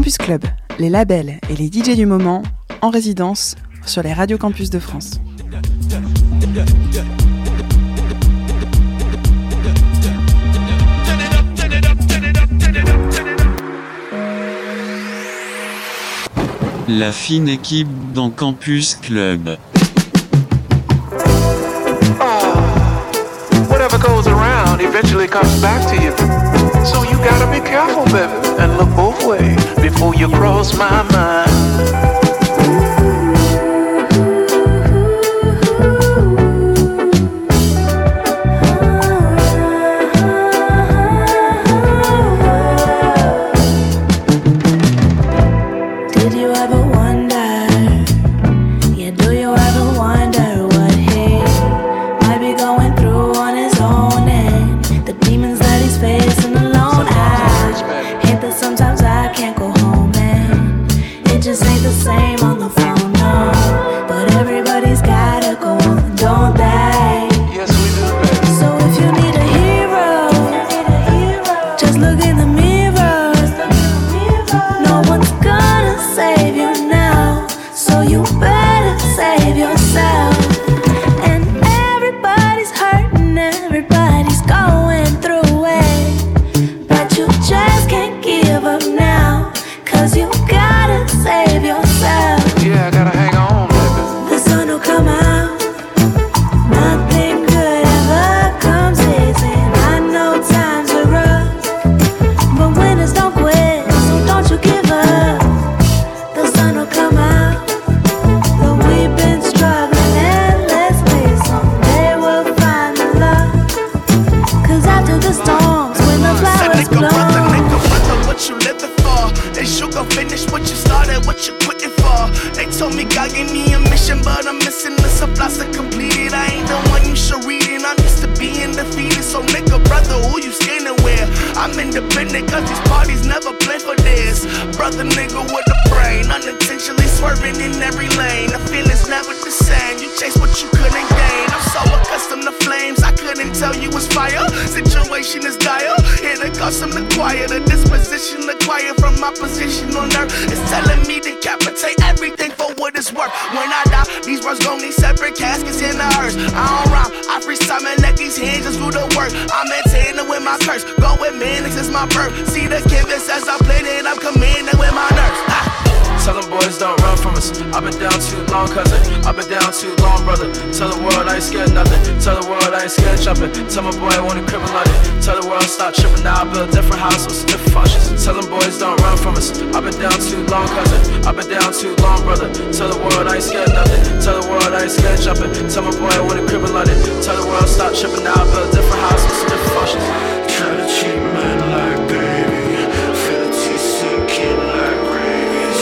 Campus Club, les labels et les DJ du moment en résidence sur les radios campus de France. La fine équipe dans Campus Club. Whatever goes around eventually comes back to you. So you gotta be careful, baby, and look both ways before you cross my mind. Tell my boy I want a crib and London. Tell the world stop tripping now. I build different houses with different functions. Tell them boys don't run from us. I've been down too long, cousin. I've been down too long, brother. Tell the world I ain't scared nothing. Tell the world I ain't scared jumping. Tell my boy I want a crib and London. Tell the world stop tripping now. I build different houses with different functions. Try to treat men like baby. Feel the tea sinking like rabies.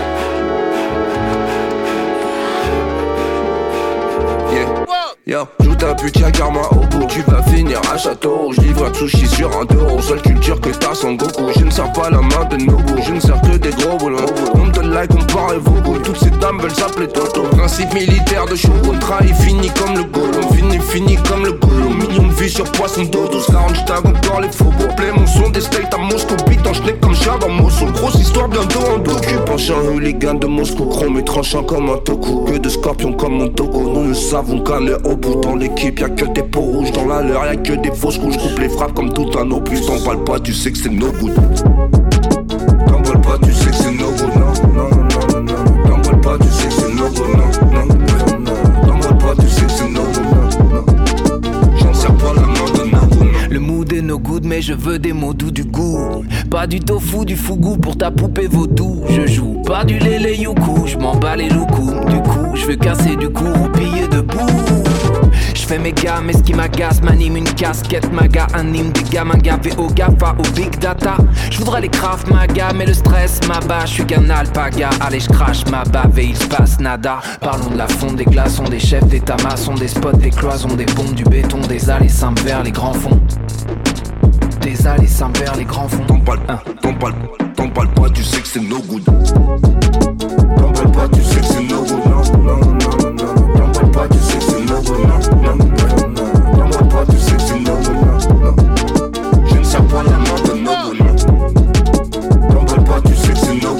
Yeah. Yo, joue ta pute, y'a karma au bout. Tu vas finir à Château. Je livre un sushi sur un euro. Seule culture que t'as sans Goku. Je ne sers pas la main de Nobu. Je ne sers que des gros boulons. On me donne like, on part et vous. Toutes ces dames veulent s'appeler Toto. Principe militaire de Shogun. Trahi fini comme le Gollum. Fini comme le Gollum. Million de vues sur poisson d'eau. 12-40 j'tag encore les faux. Pour play mon son des steaks à Moscou. Beat en schneck comme chat dans Mossoul. Grosse histoire bientôt en docu. Penchant hooligan de Moscou. Chrome et tranchant comme un toku. Que de scorpions comme mon togo. Nous ne savons qu'un est au bout. Dans l'équipe y'a que des peaux rouges. Dans la leur y'a que des fausses couches. Coupe les frappes comme tout un opus. T'en parles pas, tu sais que c'est no good. T'en parles pas, tu sais que c'est no good. Non. T'en parles pas, tu sais que c'est no good. Non. T'en parles pas, tu sais que c'est no good. Non. J'en sers pas la main de no good. Le mood est no good mais je veux des mots doux du goût. Pas du tofu, du fougou pour ta poupée vaudou. Je joue pas du lélé youkou. J'm'en bats les loucous. Du coup je veux casser du cou ou piller debout. J'fais mes gars, mais ce qui m'agace m'anime une casquette maga, anime des gamins gavés au GAFA, au big data. J'voudrais les Krav Maga, mais le stress m'abat. J'suis qu'un alpaga, allez j'crache ma bave et il se passe nada. Parlons de la fonte, des glaçons, des chefs d'état maçons, des spots, des cloisons, des pompes, du béton, des allées simples vers les grands fonds. Des allées simples vers les grands fonds. T'en parles pas, tu sais que c'est no good. T'en parles pas, tu sais que c'est no good. Non. T'en parles pas, tu sais que c'est no good. Non. T'en parles pas, tu sais que c'est no good. Non. Je ne sers pas la main de no good. T'en parles pas, tu sais que c'est no good.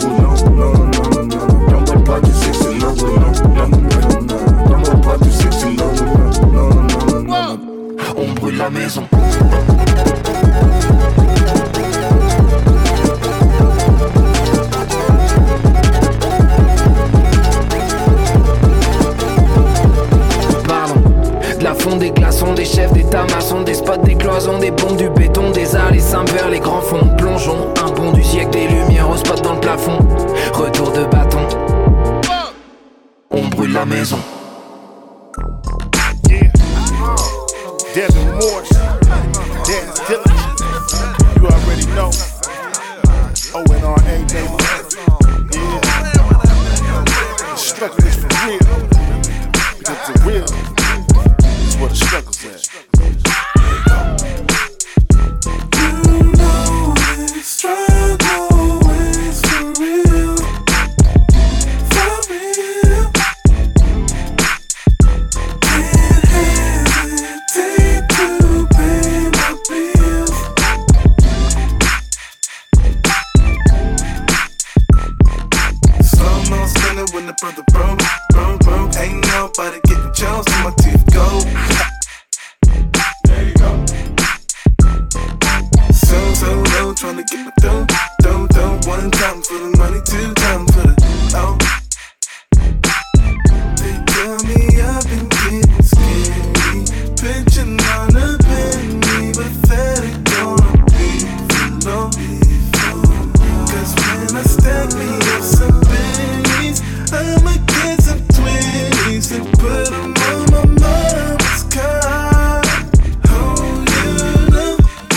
brûle la maison. De la fonte, des glaçons, des chefs, des tamassons, des spots, des cloisons, des bombes, du béton, des allées simples vers les grands fonds. Plongeons, un bond du siècle, des lumières au spot dans le plafond. Retour de bâton, on brûle la maison. Yeah, there's remorse, there's diligence. You already know. ONRA, baby. Yeah, the struggle is for real. Because the real is where the struggle's at. You know the struggle is for real. For real. Can't hesitate to pay my bills. Slow mo spinning when the brother broke. Ain't nobody getting chills till my teeth go. There you go. So low, tryna get my dough. One time for the money, two times for the oh. They tell me I've been getting scary, pitching on a penny, but that ain't gonna be for long. Cause when I stack me up some pennies, I'ma get some 20s and put them on my mama's car. Oh, you know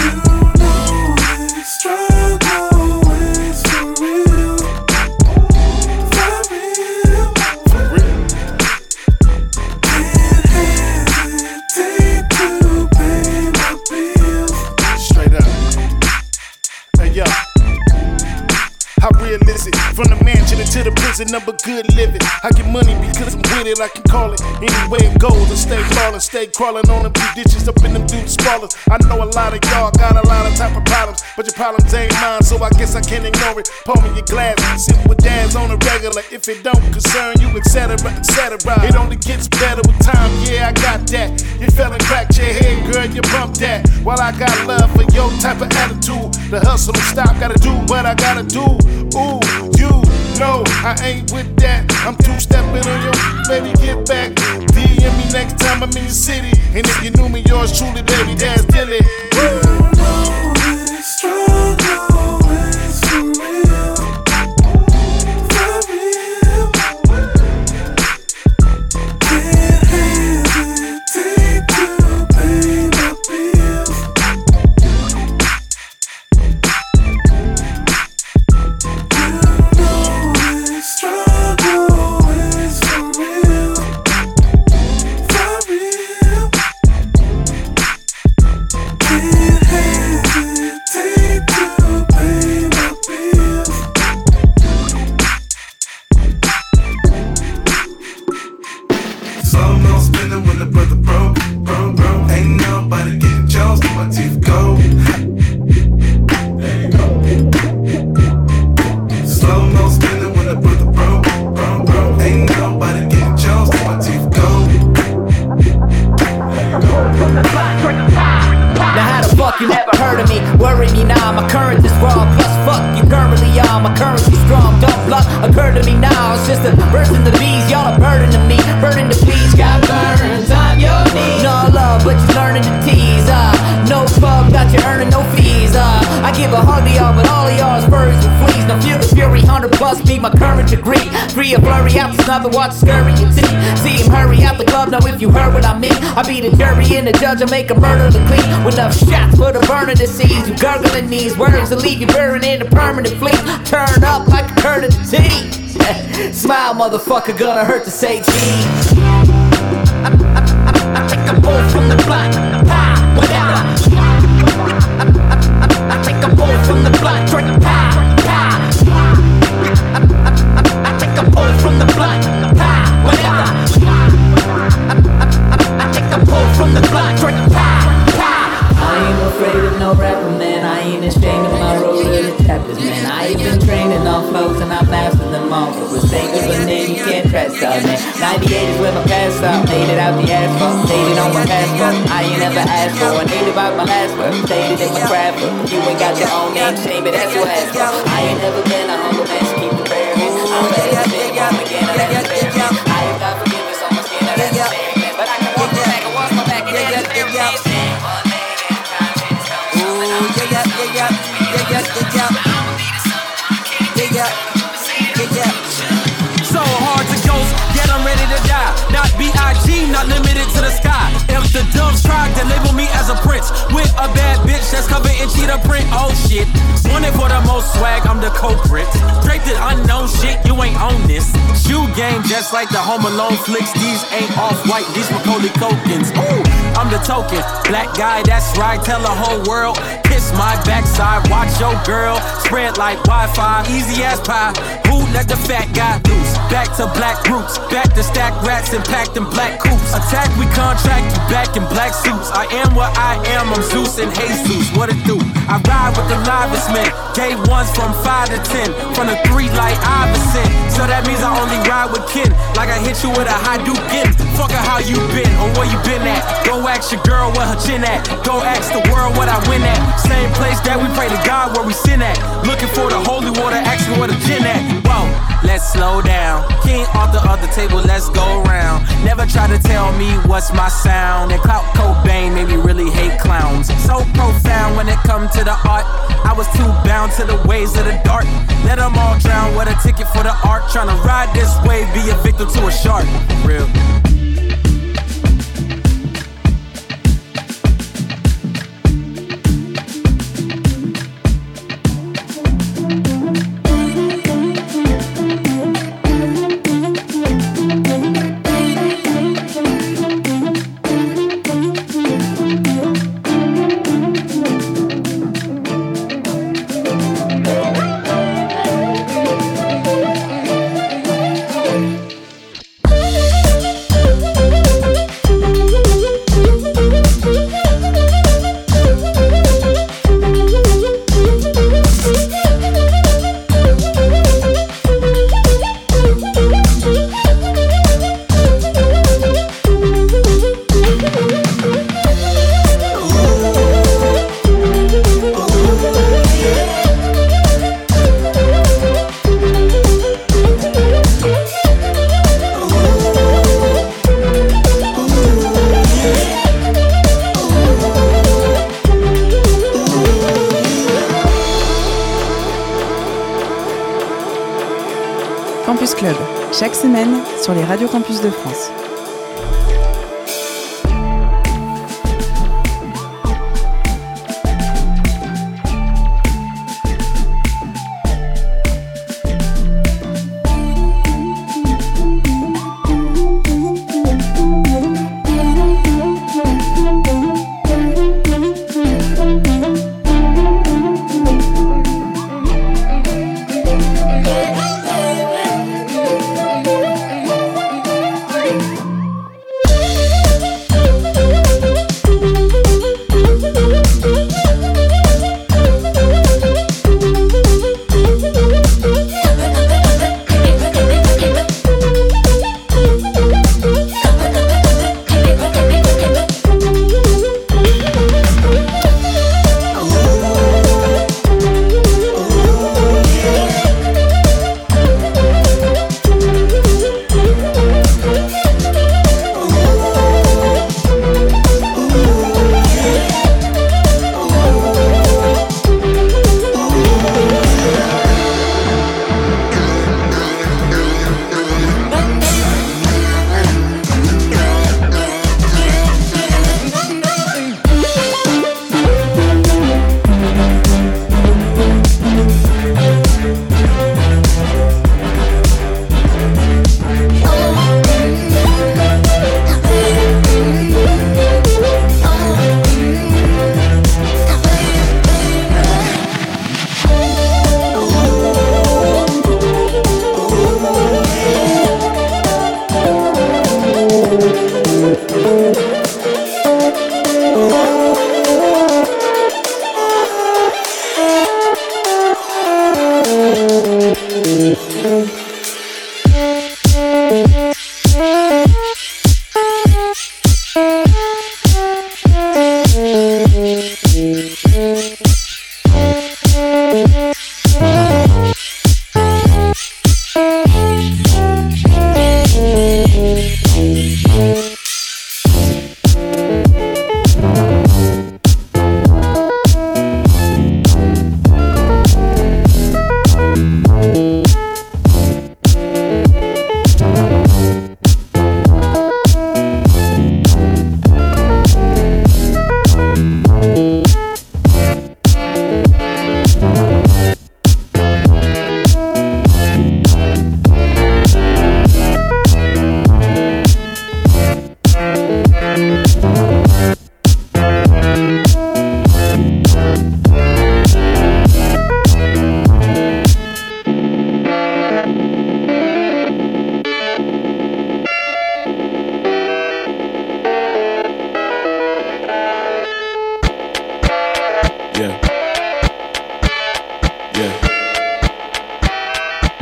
this struggle is for real. For real. For real. Can't hesitate to pay my bills. Straight up. Hey yo, how real is it? From the mansion to the prison of a good living. I get money because I'm with it, I can call it any way it goes. I stay ballin', stay crawling on them few ditches up in them dudes spoilers. I know a lot of y'all got a lot of type of problems, but your problems ain't mine, so I guess I can't ignore it. Pour me your glass, sit with dads on a regular. If it don't concern you, etc., etc. It only gets better with time, yeah, I got that. You fell and cracked your head, girl, you bumped that. While I got love for your type of attitude, the hustle don't stop, gotta do what I gotta do. Ooh, you know I ain't with that. I'm two-stepping on your baby, get back. DM me next time I'm in your city. And if you knew me, yours truly, baby, that's Dilly. You know this struggle is for real. For real. Can't hesitate to pay my bills. You know this struggle is for real. For real. Can't hesitate to pay my bills. Slow mo spinning when the brother broke. Ain't nobody getting chills till my teeth go. There you go. Slow mo spinning when the brother broke. Ain't nobody getting chills till my teeth go. There you go. Now how the fuck you never heard of me? Worry me now, my current is wrong. Plus fuck you currently are, my currency strong. Don't luck occur to me now. It's just a burst in the bees, y'all are burdening me. Burning the bees, got burns on your knees. No love, but you're learning to tease. No fuck, got you earning no fees. I give a hug to y'all, but all of y'all is furries and fleas. Now feel the fury, 100 plus be my current degree. Free a flurry out the snub and watch scurry and see him hurry out the club. Now if you heard what I mean, I be the jury and the judge, I make a murder to clean. With enough shots for the burner to seize. You gurgling these words to leave you burning in a permanent fleet. Turn up like a curd of the tea. Smile, motherfucker, gonna hurt to say cheese. I take a pull from the block, whatever. I take a pull from the block, I take a pull from the block, whatever. I take a pull from the block, I ain't afraid of no rapper, man. I ain't ashamed of my role in the chapters, man. I ain't been training on flows and I mastered them all. For the sake of a name, you can't press out, man. 98 is where my past out. Made it out the asphalt, made it on my passport. I ain't never asked for. I need about my last word. Stated in my craft book. You ain't got your own name, shame it, that's your ass. I ain't never been a humble man, so keep the prayer. I'm ready to big up again, I have to bear. I have got forgiveness on my skin, I have to share. But I can walk my back and wash my back and then it's everything. So hard to ghost, yet I'm ready to die. Not B.I.G., not limited to the sky. If the doves tried to label me as a prince with a bad bitch that's covered in cheetah print, oh shit. Wanted for the most swag, I'm the culprit. Draped in unknown shit, you ain't on this. Shoe game just like the Home Alone flicks. These ain't off-white, these Macaulay Culkins. Ooh, I'm the token, black guy, that's right. Tell the whole world, kiss my backside. Watch your girl, spread like Wi-Fi. Easy as pie, who let the fat guy loose? Back to black roots, back to stack rats and pack them black coops. Attack, we contract you back in black suits. I am what I am, I'm Zeus and Jesus. What it do? I ride with the livest men. Gave ones from 5 to 10, from the 3 like Iverson. So that means I only ride with kin, like I hit you with a Hadouken. Fuck how you been or where you been at. Go ask your girl where her chin at. Go ask the world what I win at. Same place that we pray to God where we sin at. Looking for the holy water, asking where the gin at. Whoa, let's slow down. King off the other table, let's go round. Never try to tell me what's my sound. And Clout Cobain made me really hate clowns. So profound when it come to the art. I was too bound to the ways of the dark. Let them all drown with a ticket for the art. Tryna ride this wave, be a victim to a shark. Real. Campus Club, chaque semaine sur les radios campus de France.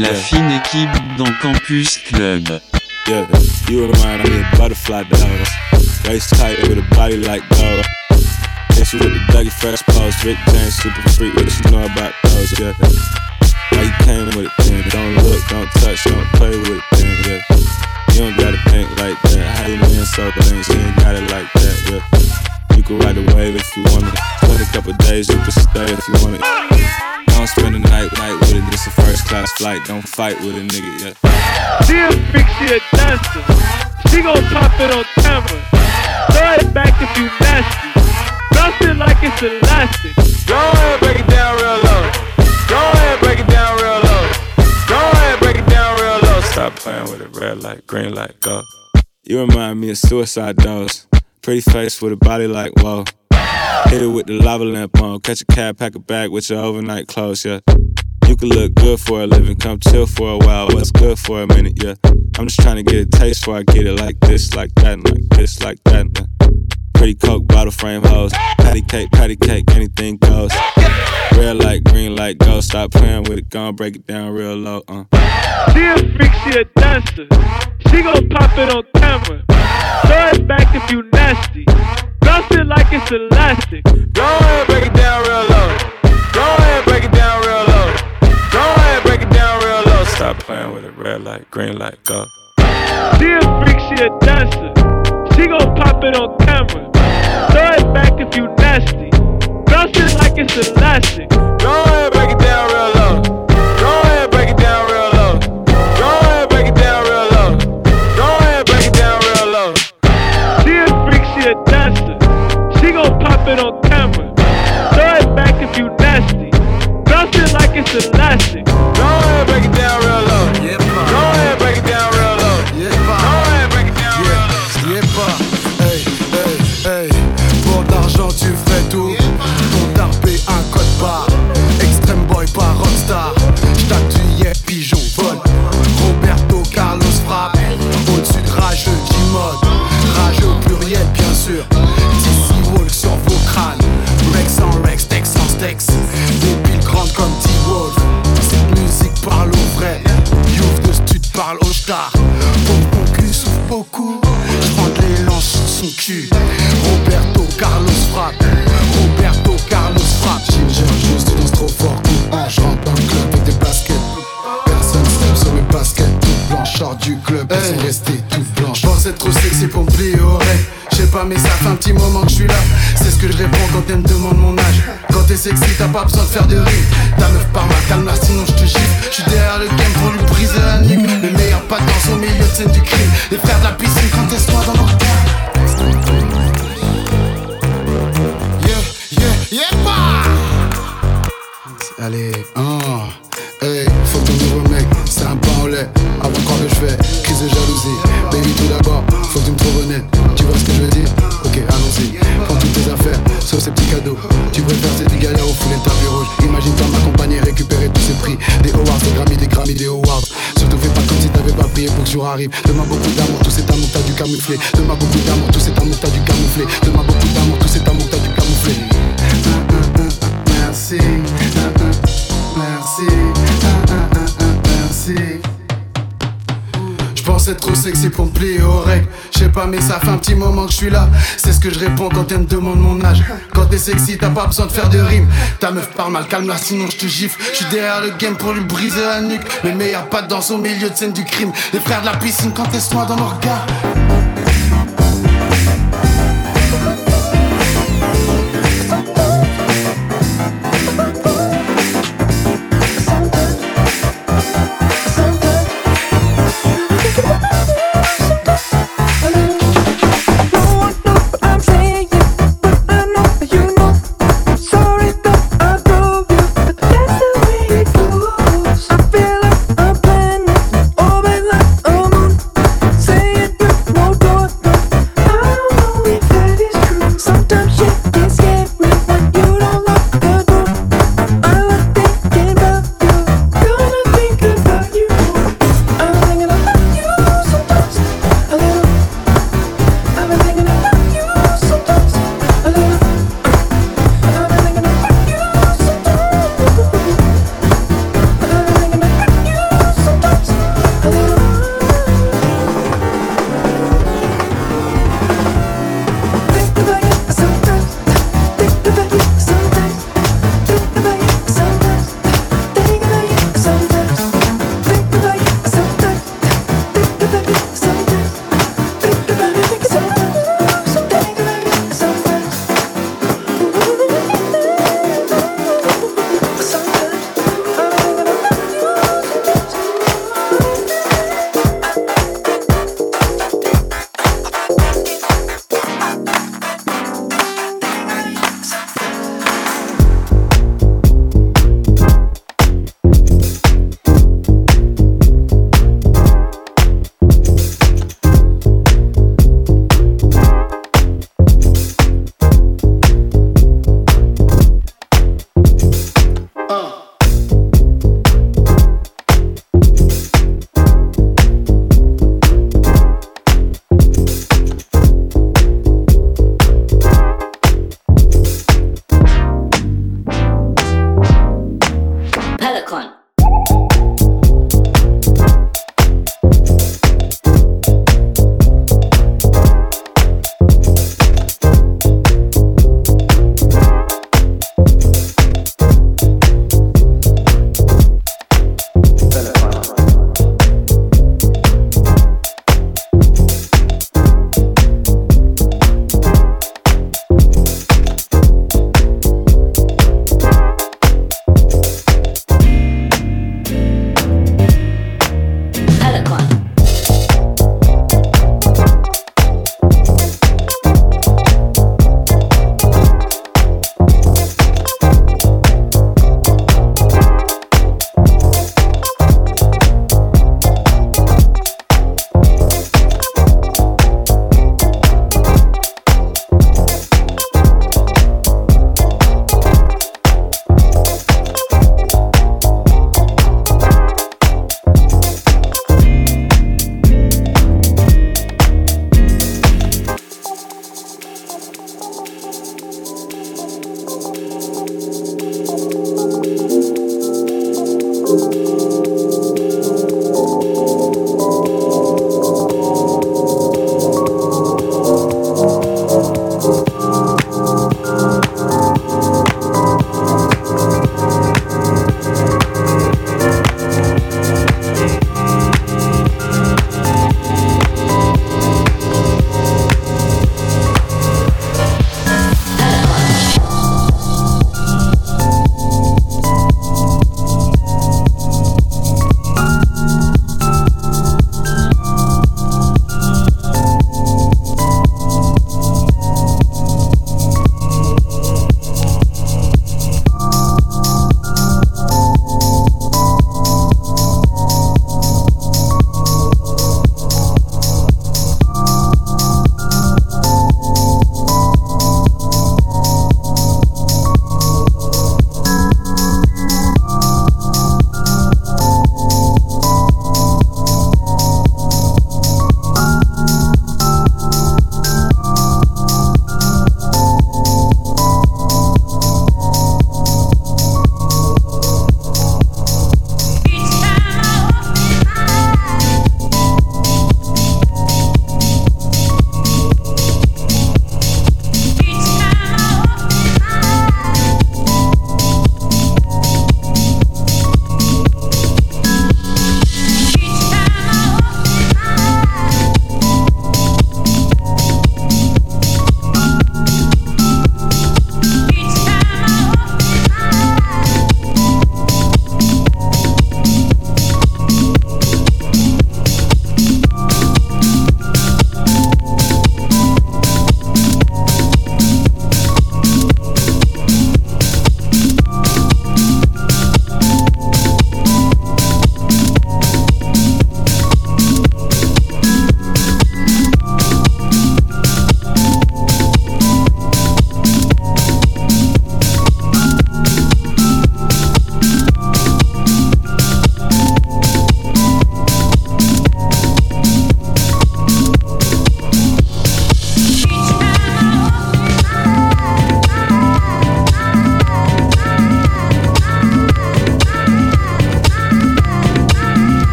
La fine équipe dans Campus Club. Yeah, you remind me of butterfly dogs. Waist tight with a body like dog. Hit you with the Dougie Fresh pose. Rick James, super freak, what you know about those, yeah. Why you came with it then? Don't look, don't touch, don't play with it then, yeah. You don't gotta think like that. How you been so clean? She ain't got it like that, yeah. You can ride the wave if you want it. Spend a couple days, you can stay if you want it. Don't spend the night with it, it's a first class flight. Don't fight with a nigga, yeah. She a freak, she a dancer. She gon' pop it on camera. Throw it back if you nasty. Bounce it like it's elastic. Go ahead, break it down real low. Go ahead, break it down real low. Go ahead, break it down real low. Stop playing with it, red light, green light, go. You remind me of Suicide Dolls. Pretty face with a body like whoa. Hit it with the lava lamp on. Catch a cab, pack a bag with your overnight clothes, yeah. You can look good for a living, come chill for a while. What's good for a minute, yeah. I'm just trying to get a taste before I get it like this, like that, and like this, like that. Pretty Coke bottle frame hoes. Patty cake, anything goes. Red light, green light, go. Stop playing with it, gon' break it down real low, She a freak, she a dancer. She gon' pop it on camera. Throw it back if you nasty. Bounce it like it's elastic. Go ahead, break it down real low. Go ahead, break it down real low. Go ahead, break it down real low. Stop playing with it, red light, green light, go. She a freak, she a dancer. She gon' pop it on camera. Throw it back if you nasty. Bounce it like it's elastic. Go ahead, break it down real low. Go ahead, break it down real low. Go ahead, break it down real low. Go ahead, break it down real low. She a freak, she a dancer. She gon' pop it on camera. Throw it back if you nasty. Bounce it like it's elastic. Go ahead, break it down real low. Go ahead, break it down real low. Go ahead, break it down real low. Hey, hey, hey. Pour d'argent tu fais tout. Ton tarpé un code barre. Extreme boy pas rockstar. J't'actuais pigeon vol. Roberto Carlos frappe. Au-dessus de rageux G-mode. Rageux au pluriel bien sûr. DC Walk sur vos crânes. Rex en Rex, Tex en Stex. Des piles grandes comme T-Wolf. Cette musique parle au vrai. Youf de stud parle au star. Mon cul souffle beaucoup. J'prends de l'élan sur son cul. Roberto Carlos frappe. Roberto Carlos frappe. Ginger juste tu danses trop fort. Je rentre dans le club avec des baskets. Personne step sur mes baskets. Toutes blanches, sort du club. Elles sont restées toutes blanches. J'pense être trop sexy pour me plier aux règles. J'sais pas mais ça fait un petit moment que je suis là. C'est ce que je réponds quand elle me demande mon âge. Quand t'es sexy t'as pas besoin de faire de rime. Ta meuf par ma calme sinon je te gifle. J'suis derrière le game pour lui briser la nuque. Les meilleurs pas dansent au milieu de scène du crime. Les frères de la piscine quand t'es toi dans nos regards. Allez, hey, faut ton nouveau mec, c'est un pain au lait. Avant de croire que je fais, crise de jalousie. Baby tout d'abord, faut que tu me trouves honnête. Tu vois ce que je veux dire? Ok, allons-y. Prends toutes tes affaires, sauf ces petits cadeaux. Tu préfères ces petits galères au fouler le tapis rouge. Imagine-toi m'accompagner, récupérer tous ces prix. Des awards, des Grammy, des awards. Surtout fais pas comme si t'avais pas prié pour que ce jour arrive. Demande beaucoup d'amour, tout cet amour t'as dû camoufler. Demande beaucoup d'amour, tout cet amour t'as dû camoufler. Demande beaucoup d'amour, tout cet amour t'as dû camoufler. Merci, merci, merci. J'pense être trop sexy pour me plier aux règles. J'sais pas mais ça fait un petit moment que je suis là. C'est ce que je réponds quand elle me demande mon âge. Quand t'es sexy t'as pas besoin de faire de rime. Ta meuf parle mal, calme-la sinon je te gifle. J'suis derrière le game pour lui briser la nuque. Mais meilleur pas de danse au milieu de scène du crime. Les frères de la piscine quand t'es soin dans nos regards. No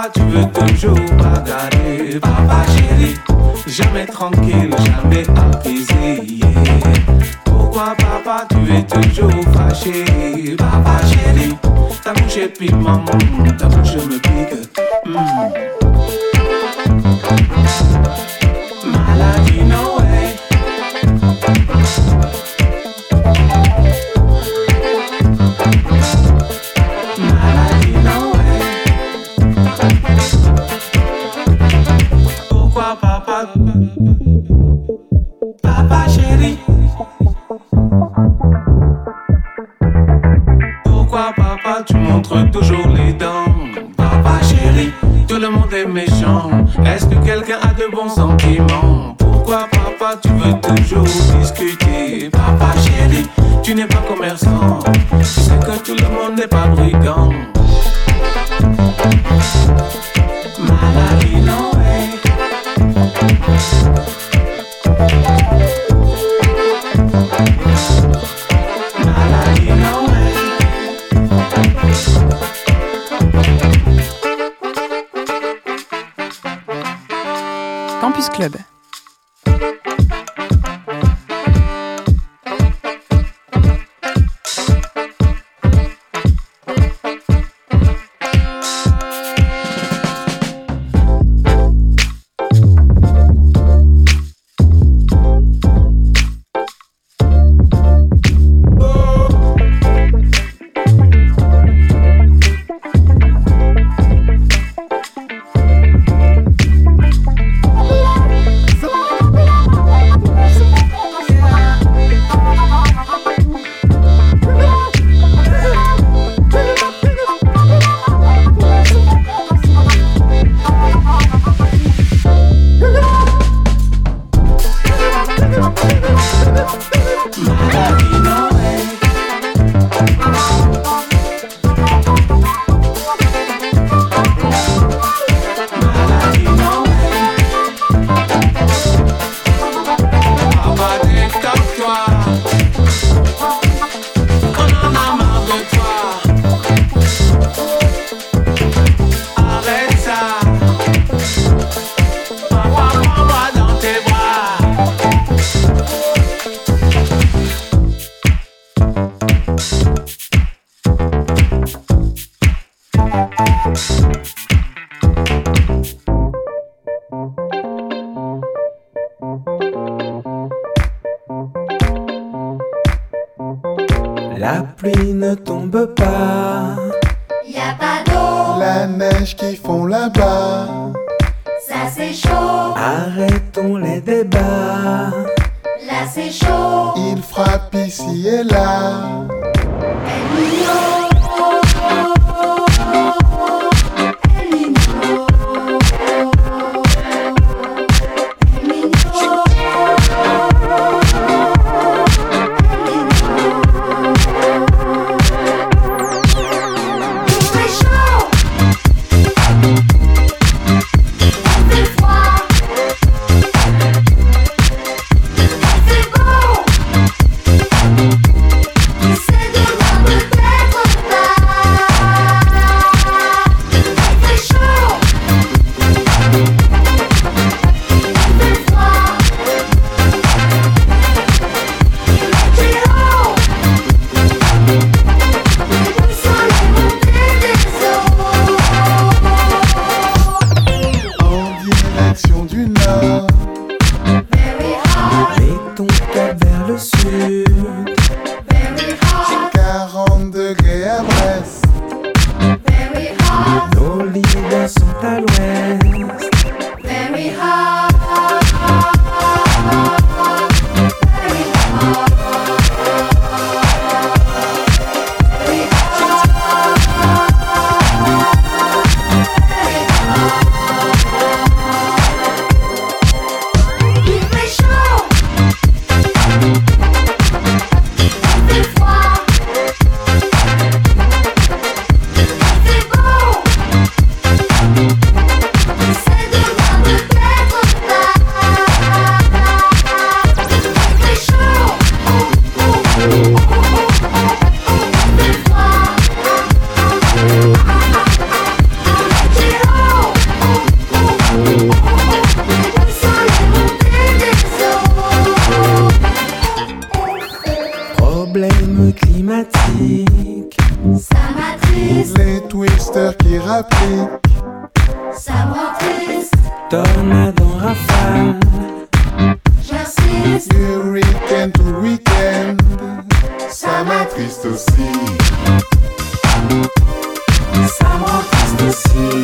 papa, tu veux toujours bagarrer? Papa chéri, jamais tranquille, jamais apaisé. Pourquoi papa, tu es toujours fâché? Papa chéri, ta bouche est piment, ta bouche me pique. Maladie, no way. Maladie, no way. Pourquoi papa? Papa chéri. Pourquoi papa tu montres toujours les dents? Papa chéri, tout le monde est méchant. Est-ce que quelqu'un a de bons sentiments? Pourquoi papa tu veux toujours discuter? Papa chéri, tu n'es pas commerçant. Tu sais que tout le monde n'est pas brigand. Maladie, no way. Maladie, no way. Campus Club. La pluie ne tombe pas. Y'a pas d'eau. La neige qui fond là-bas. Ça c'est chaud. Arrêtons les débats. Là c'est chaud. Il frappe ici et là. El Niño. El Niño. El Niño. Say triste. Les twisters qui rappliquent. Ça me rend triste. Tornade en rafale. J'insiste. Du week-end to week-end. Ça m'attriste aussi. Ça me rend triste aussi.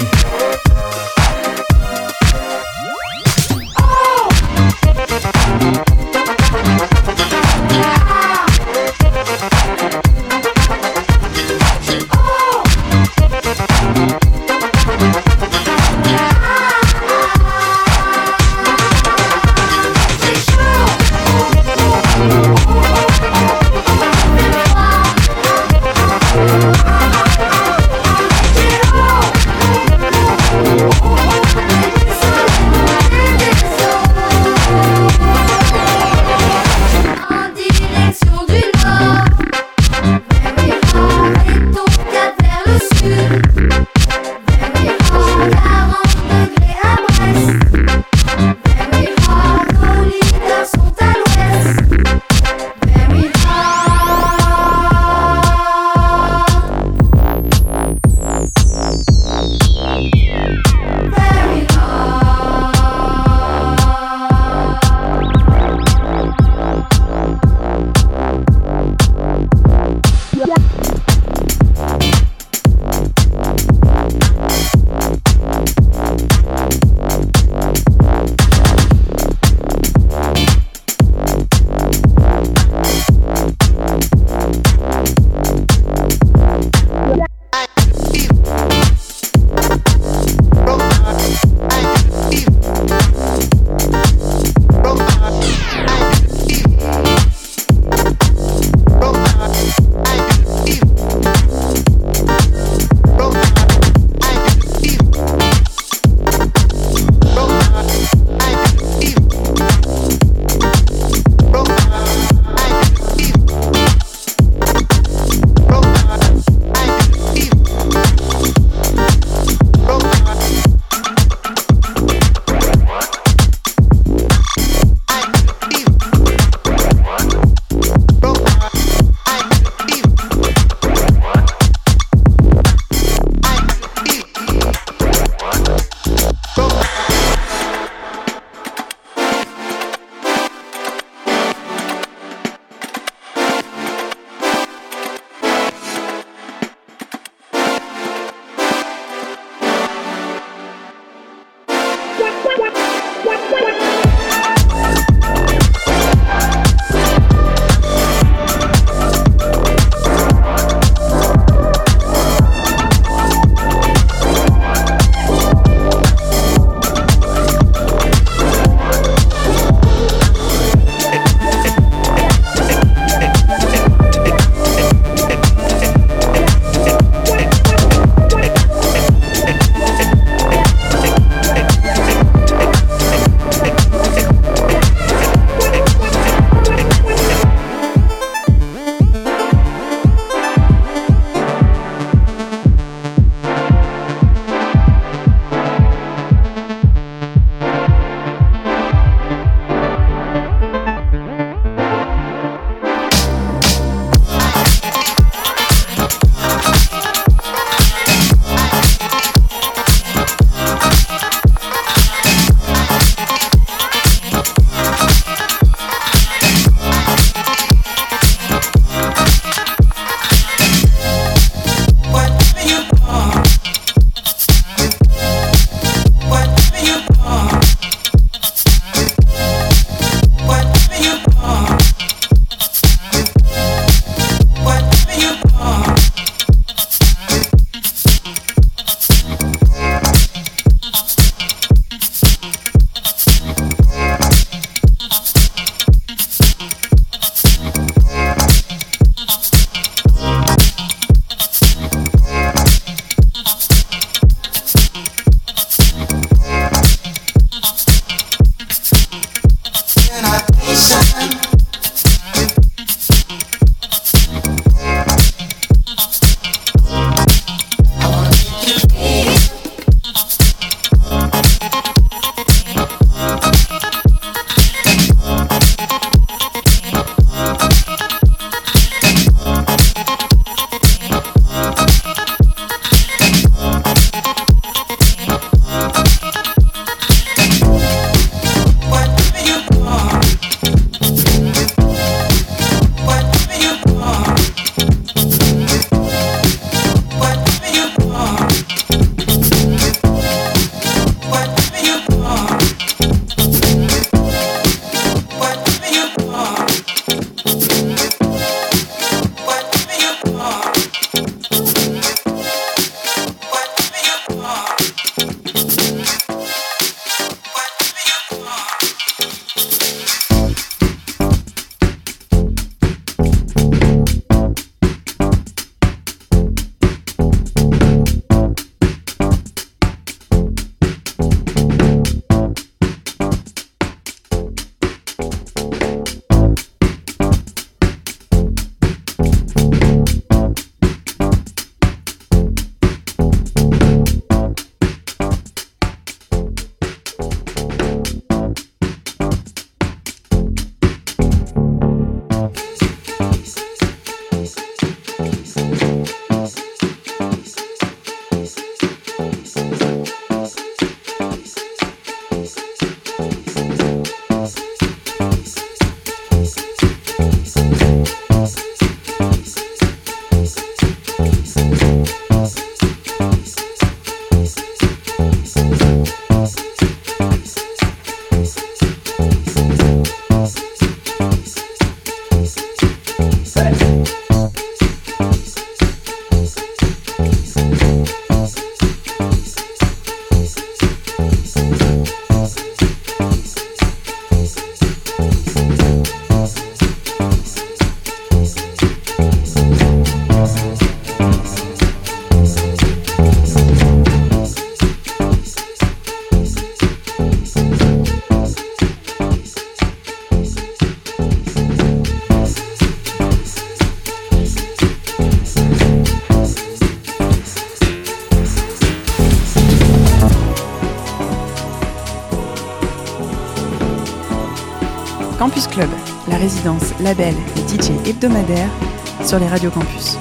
Campus Club, la résidence, label et DJ hebdomadaire sur les radios campus.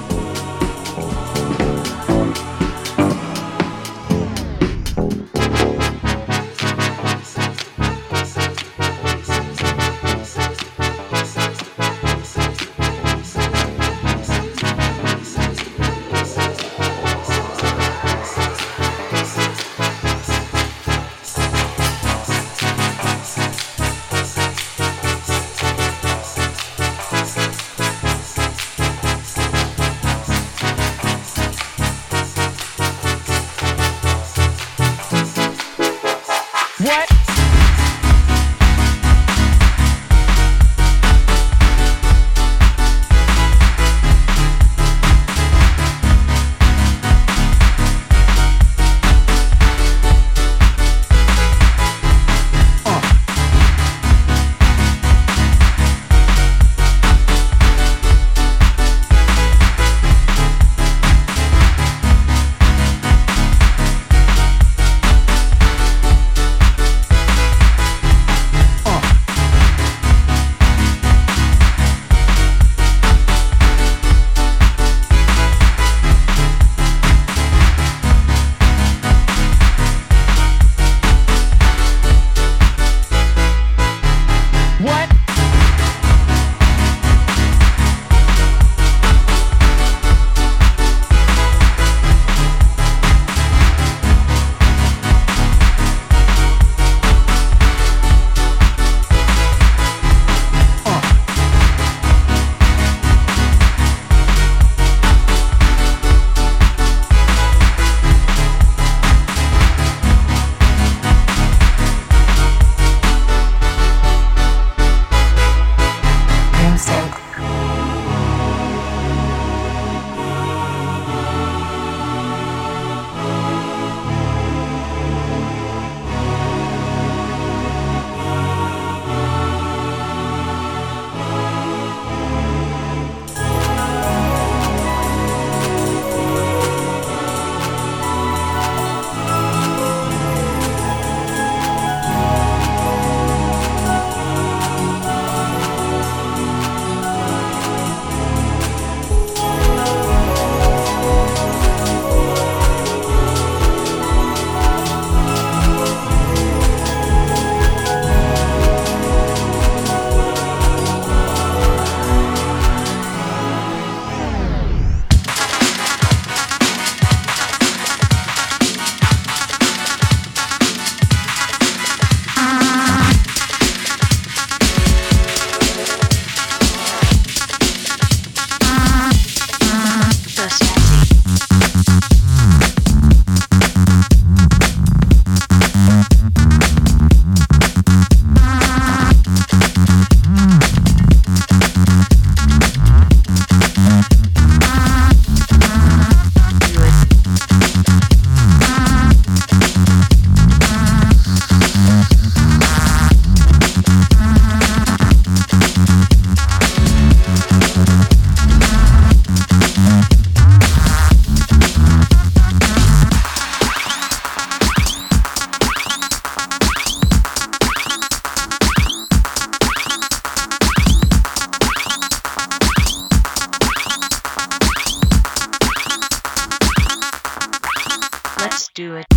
do it.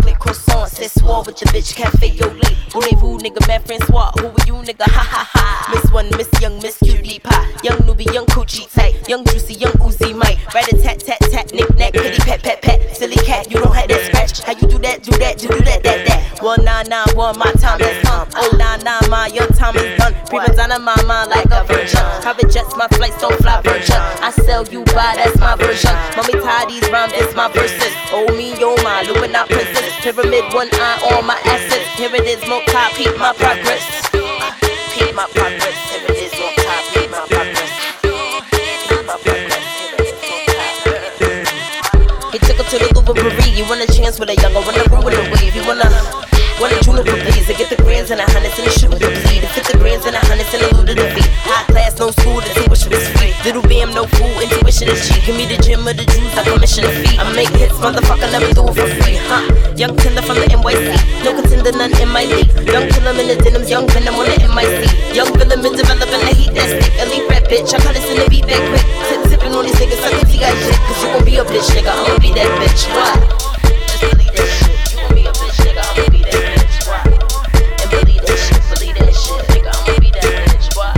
chocolate croissant. C'est soir with your bitch, cafe au lait. Voulez-vous, nigga, man, Francois? Who are you, nigga? Ha ha ha. Miss one, Miss Young, Miss Cutie Pie. Young newbie, young coochie tight. Young juicy, young Uzi Mike. Right a tat tat tat, knick knack, kitty pat pat pat. Silly cat, you don't have that scratch. How you do that, do that, do that, that. 1991, my time has come. 099, my your time is done. Prima donna, my mind like a virgin. Private jets, my flights don't fly virgin. I sell you by, that's my version. Mommy tie these rhymes, it's my verses. Oh me, oh my, Illuminati princess. Pyramid, one eye on my assets. Here it is, multi, peep my progress. Peep my progress. Here it is, multi, peep my progress. Peep my progress. Here it is, multi. He took her to the Louvre Paris. You want a chance with a younger, wanna roll with a wave. You wanna juniper please. To get the grands and the hundreds and the sugar to bleed. To fit the grands and the hundreds and the loot of the feet. High class, no school, the tuition is free. Little bam, no fool, intuition is cheap. Give me the gym or the juice, I commission a fee. I make hits, motherfucker, never do it for free, huh? Young tender from the NYC, no contender, none in my league. Young killer in the denims, young venom on the MIC. Young villain been developing the heat that stick. Elite rap bitch, I call this in the beat that quick. Tipping on these niggas, I can see I shit. Cause you gon' be a bitch, nigga, I'ma be that bitch. What? Just believe that shit. You gon' be a bitch, nigga, I'ma be that bitch. What? And believe that shit, nigga, I'ma be that bitch. What?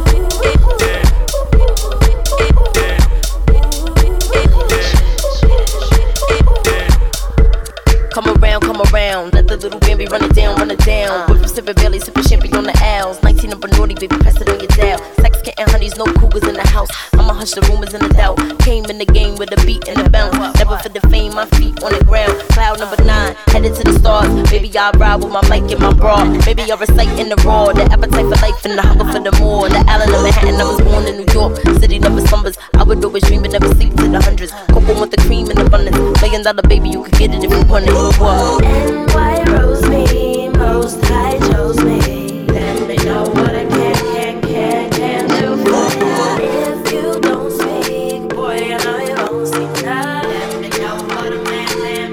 Come around, let the little baby run it down. Whip from sipping belly, sipping champagne on the L's. 19 up a naughty, baby, press it on your dial. Sex kitten, honeys, no cougars in the house. I'ma hush the rumors and the doubt. Came in the game with a beat and a bounce. Never for the fame, my feet on the ground. Cloud number 9, headed to the stars. Baby, I ride with my mic and my bra. Baby, I recite in the raw. The appetite for life and the hunger for the more. The island of Manhattan, I was born in New York. City never slumbers. I would always dream but never sleep to the hundreds. Cocoa with the cream in abundance. $1 million baby, you could get it if you want it. What? NY rose me, most high chose me. Let me know what I can do for you. If you don't speak, boy, I know you won't see now. Let me know what a man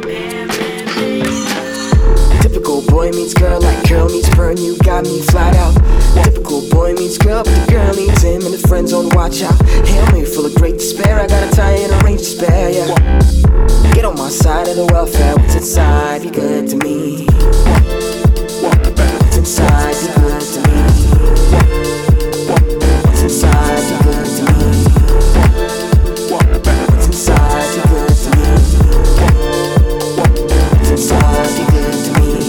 is. Typical boy meets girl, like girl meets burn, you got me flat out. Typical boy meets girl, but the girl needs him and the friends on watch out. Hail me full of great despair, I got a tie and a range to spare, yeah. Get on my side of the welfare, what's inside, be good to me. What's inside, be good to me. What's inside, be good to me. What's inside, be good to me. What's inside, be good to me.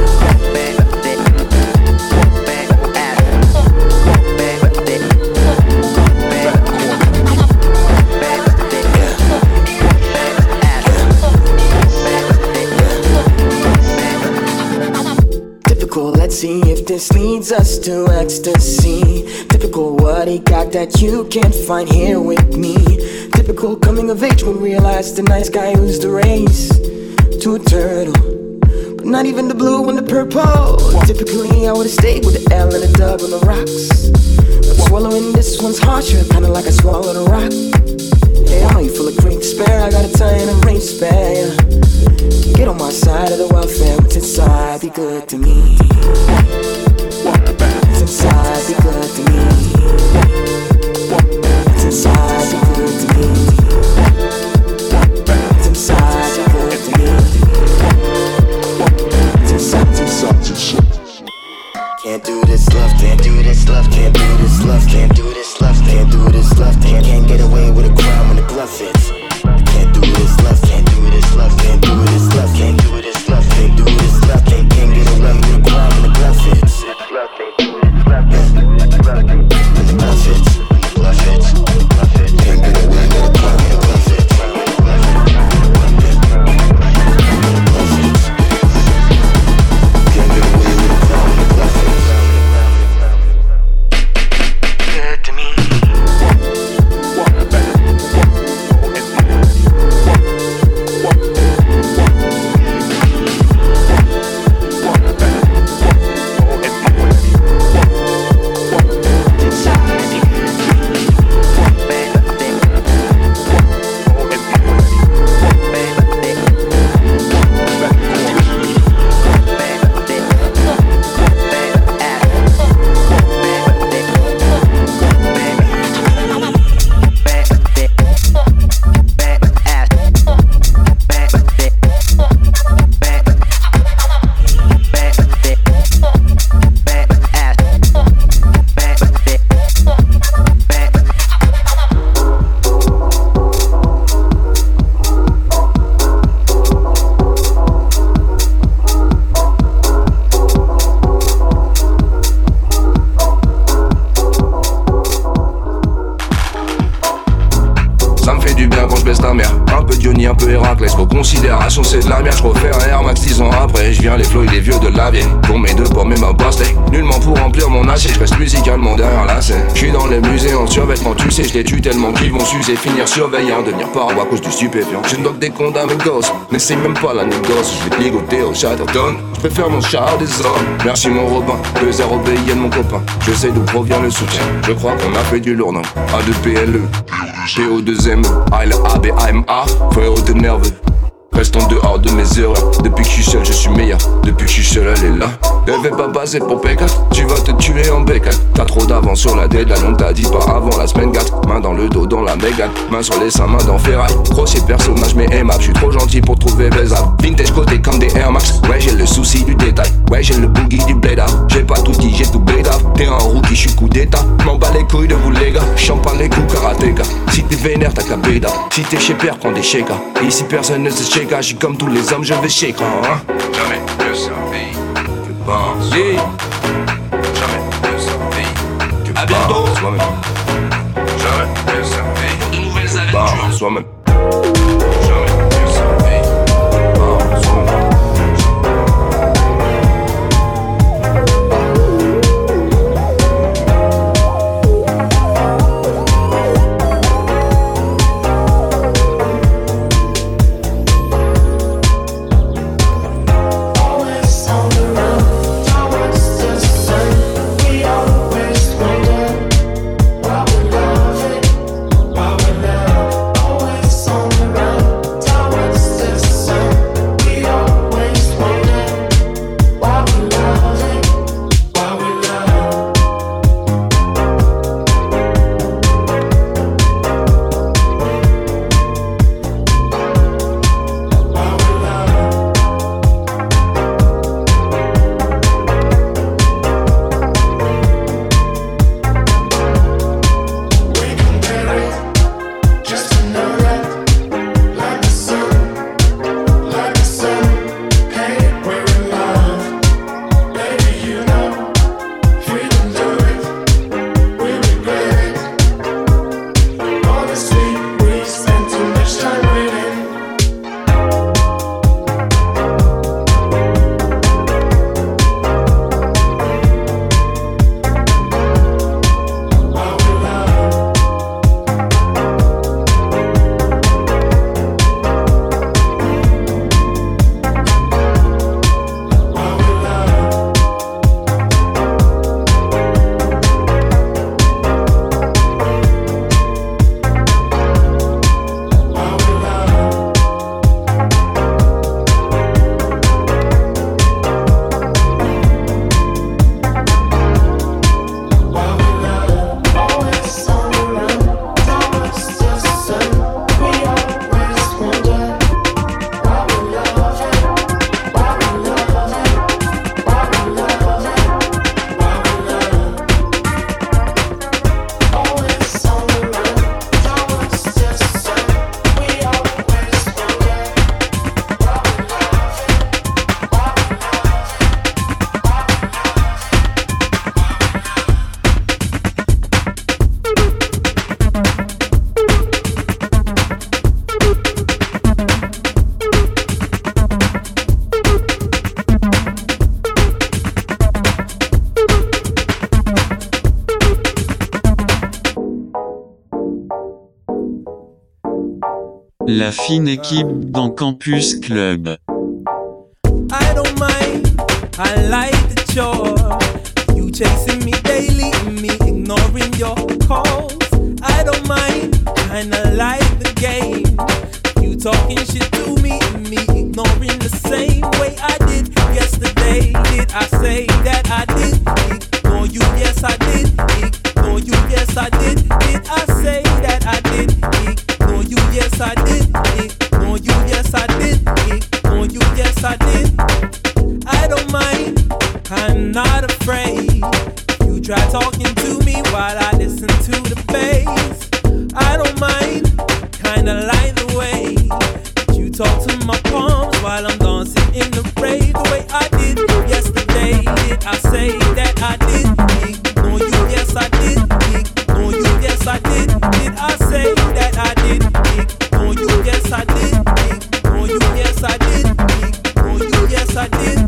Let's see if this leads us to ecstasy. Typical what he got that you can't find here with me. Typical coming of age when realize the nice guy who's the race to a turtle, but not even the blue and the purple. Typically I would've stayed with the L and the dub on the rocks, but swallowing this one's harsher, kinda like I swallowed a rock. Hey, I know you full of great despair, I got a tie and a range to spare, yeah. Get on my side of the welfare, what's inside, be good to me. What's inside, be good to me. What's inside, be good to me. What's inside, be good to me. What's inside, can't do this love, can't do this love, can't do this love, can't do this love, can't do this love, can't get away with a crime when the glove fits. Can't do this love, can't do this love, can't do this love, can't do this love, can't do this love, can't get away with a crime when the glove fits. Can't get away with a crime when the glove fits. génération c'est de la merde. J'refais un Air Max 10 ans après. J'viens les flots et les vieux de la vieille. Pour mes deux pommes et ma pastèque. Nullement pour remplir mon assiette. J'reste musicalement derrière la scène. J'suis dans les musées en survêtement. Tu sais j'les tue tellement qu'ils vont s'user. Finir surveillant, devenir parano à cause du stupéfiant. Je doc des comptes à mes gosses. N'essaye même pas la négoce. J'vais te ligoter au Chatterton. J'préfère mon char des hommes. Merci mon Robin. 2-0 BIN mon copain. Je sais d'où provient le soutien. Je crois qu'on a fait du lourd, non. A2PLE PO2M ABAMA. Frérot de nerveux. Restons dehors de mes erreurs. Depuis que je suis seul, je suis meilleur. Depuis que je suis seul, elle est là. Elle veut pas passer pour P4. Tu vas te tuer en B4. T'as trop d'avance sur la deadline. On t'a dit pas avant la semaine 4. Main dans le dos, dans la mégane. Main sur les seins, main dans ferraille. Grossier personnage, mais aimable. Je suis trop gentil pour trouver baisable. Vintage côté comme des Air Max. Ouais, j'ai le souci du détail. Ouais, j'ai le boogie du blade up. J'ai pas tout dit, j'ai tout blade up. T'es un rookie, je suis coup d'état. M'en bats les couilles de vous, les gars. Champagne les coups, karatéka. Si t'es vénère, t'as qu'à beda. Si t'es chez père, prends des shakers. Ici, personne ne se shake. Je suis comme tous les hommes, je vais shake. Jamais mieux servi que pense. Jamais mieux servi que pense. À bientôt. Soi-même. Jamais mieux servi pour de nouvelles aventures. Soi-même. Jamais mieux servi. Soi-même. La fine équipe dans Campus Club. I don't mind, I like the chore. You chasing me daily and me ignoring your calls. I don't mind, kinda like the game. You talking shit to me and me ignoring the same way I did yesterday. Did I say that I did ignore you? Yes I did ignore you. Yes I did. Did I say that I did ignore you? Yes I did ignore you. Yes I did ignore you. Yes I did. I don't mind, I'm not afraid. You try talking to me while I listen to the bass. I don't mind, kinda like the way that you talk to my palms while I'm dancing in the rave. The way I did yesterday. Did I say that I did ignore you? Yes I did ignore you. Yes I did. Did I say that I did ignore you? Yes I did ignore you. Yes I did. I did.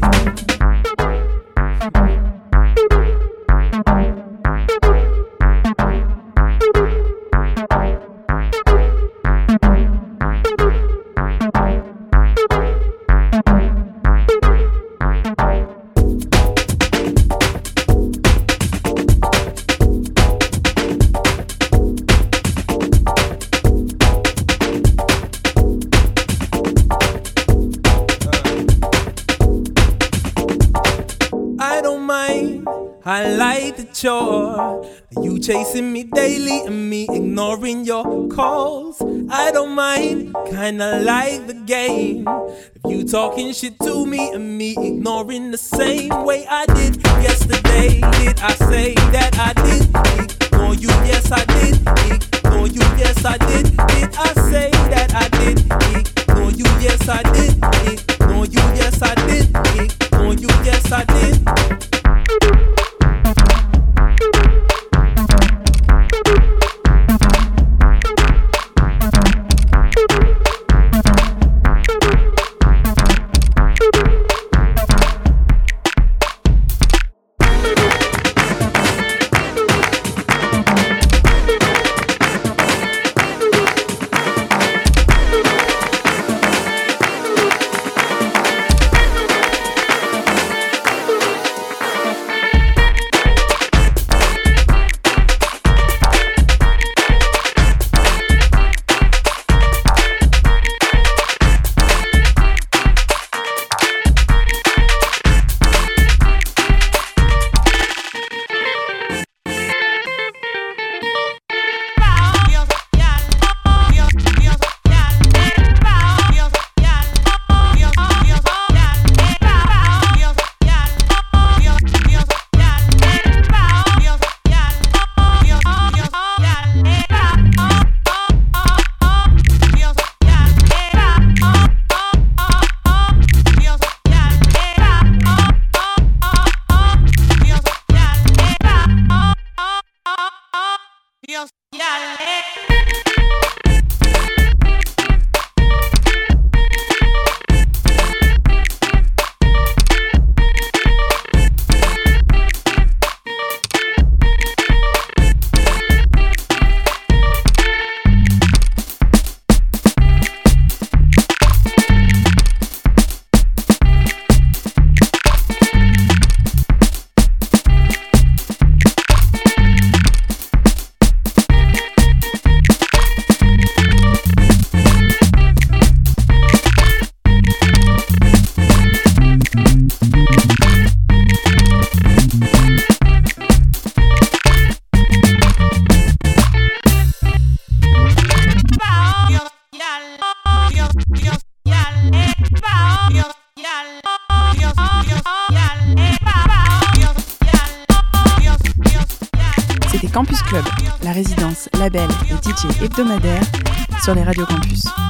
I like the chore, you chasing me daily and me ignoring your calls. I don't mind, kinda like the game. If you talking shit to me and me ignoring the same way I did yesterday. Did I say that I did ignore you? Yes I did ignore you. Yes I did. Did I say that I did ignore you? Yes I did ignore you. Yes I did ignore you. Yes I did. C'était Campus Club, la résidence, label et DJ hebdomadaire sur les radios campus.